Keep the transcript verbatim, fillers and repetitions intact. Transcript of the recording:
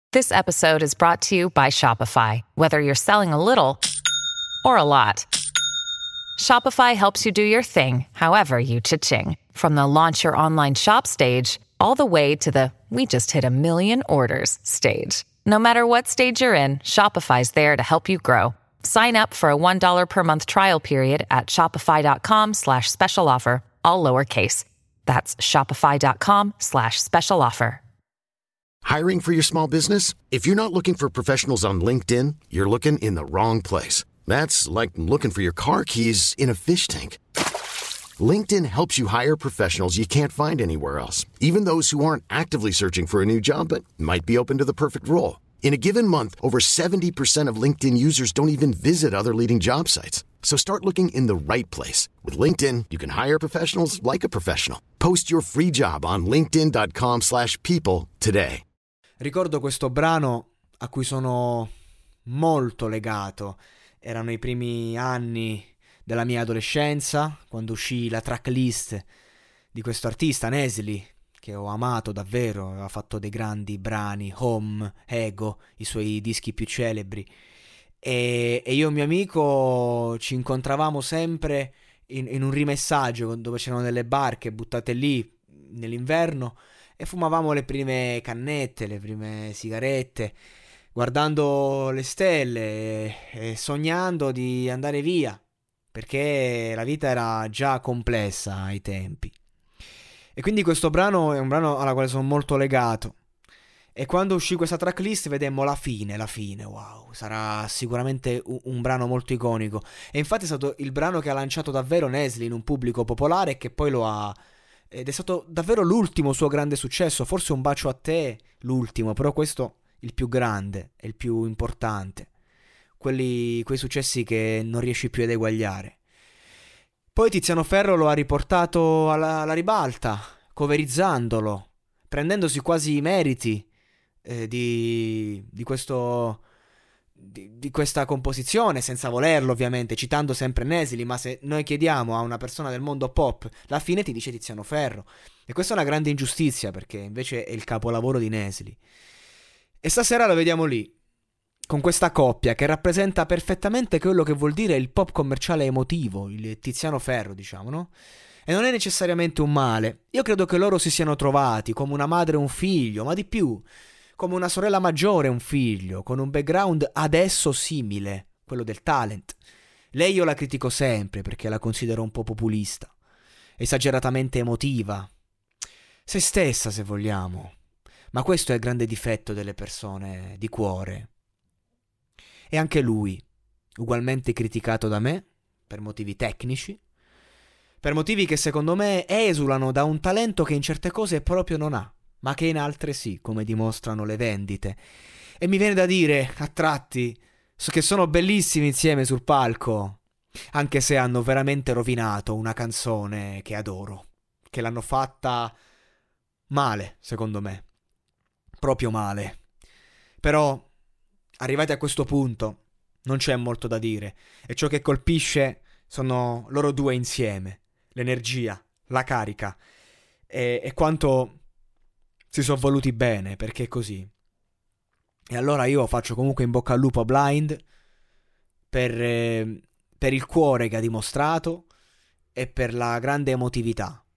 This episode is brought to you by Shopify. Whether you're selling a little or a lot, Shopify helps you do your thing, however you cha-ching. From the launch your online shop stage, all the way to the we just hit a million orders stage. No matter what stage you're in, Shopify's there to help you grow. Sign up for a one dollar per month trial period at shopify.com slash special offer, all lowercase. That's shopify.com slash special offer. Hiring for your small business? If you're not looking for professionals on LinkedIn, you're looking in the wrong place. That's like looking for your car keys in a fish tank. LinkedIn helps you hire professionals you can't find anywhere else, even those who aren't actively searching for a new job but might be open to the perfect role. In a given month, over seventy percent of LinkedIn users don't even visit other leading job sites. So start looking in the right place. With LinkedIn, you can hire professionals like a professional. Post your free job on linkedin.com slash people today. Ricordo questo brano a cui sono molto legato. Erano i primi anni della mia adolescenza, quando uscì la tracklist di questo artista, Nesli, che ho amato davvero. Aveva fatto dei grandi brani, Home, Ego, i suoi dischi più celebri. E, e io e un mio amico ci incontravamo sempre in, in un rimessaggio dove c'erano delle barche buttate lì nell'inverno e fumavamo le prime cannette, le prime sigarette, guardando le stelle e, e sognando di andare via, perché la vita era già complessa ai tempi. E quindi questo brano è un brano alla quale sono molto legato. E quando uscì questa tracklist vedemmo la fine, la fine, wow, sarà sicuramente un, un brano molto iconico. E infatti è stato il brano che ha lanciato davvero Nesli in un pubblico popolare e che poi lo ha... Ed è stato davvero l'ultimo suo grande successo, forse Un bacio a te, l'ultimo, però questo il più grande e il più importante. Quelli, quei successi che non riesci più ad eguagliare. Poi Tiziano Ferro lo ha riportato alla, alla ribalta, coverizzandolo, prendendosi quasi i meriti eh, di, di questo... Di, di questa composizione, senza volerlo ovviamente, citando sempre Nesli. Ma se noi chiediamo a una persona del mondo pop la fine, ti dice Tiziano Ferro, e questa è una grande ingiustizia, perché invece è il capolavoro di Nesli. E stasera lo vediamo lì, con questa coppia che rappresenta perfettamente quello che vuol dire il pop commerciale emotivo, il Tiziano Ferro, diciamo, no? E non è necessariamente un male. Io credo che loro si siano trovati come una madre e un figlio, ma di più, come una sorella maggiore e un figlio, con un background adesso simile, quello del talent. Lei io la critico sempre perché la considero un po' populista, esageratamente emotiva, se stessa se vogliamo, ma questo è il grande difetto delle persone di cuore. E anche lui, ugualmente criticato da me, per motivi tecnici, per motivi che secondo me esulano da un talento che in certe cose proprio non ha, ma che in altre sì, come dimostrano le vendite. E mi viene da dire, a tratti, che sono bellissimi insieme sul palco, anche se hanno veramente rovinato una canzone che adoro, che l'hanno fatta male, secondo me, proprio male. Però, arrivati a questo punto, non c'è molto da dire, e ciò che colpisce sono loro due insieme, l'energia, la carica, e, e quanto si sono voluti bene, perché è così. E allora io faccio comunque in bocca al lupo a Blind per, eh, per il cuore che ha dimostrato e per la grande emotività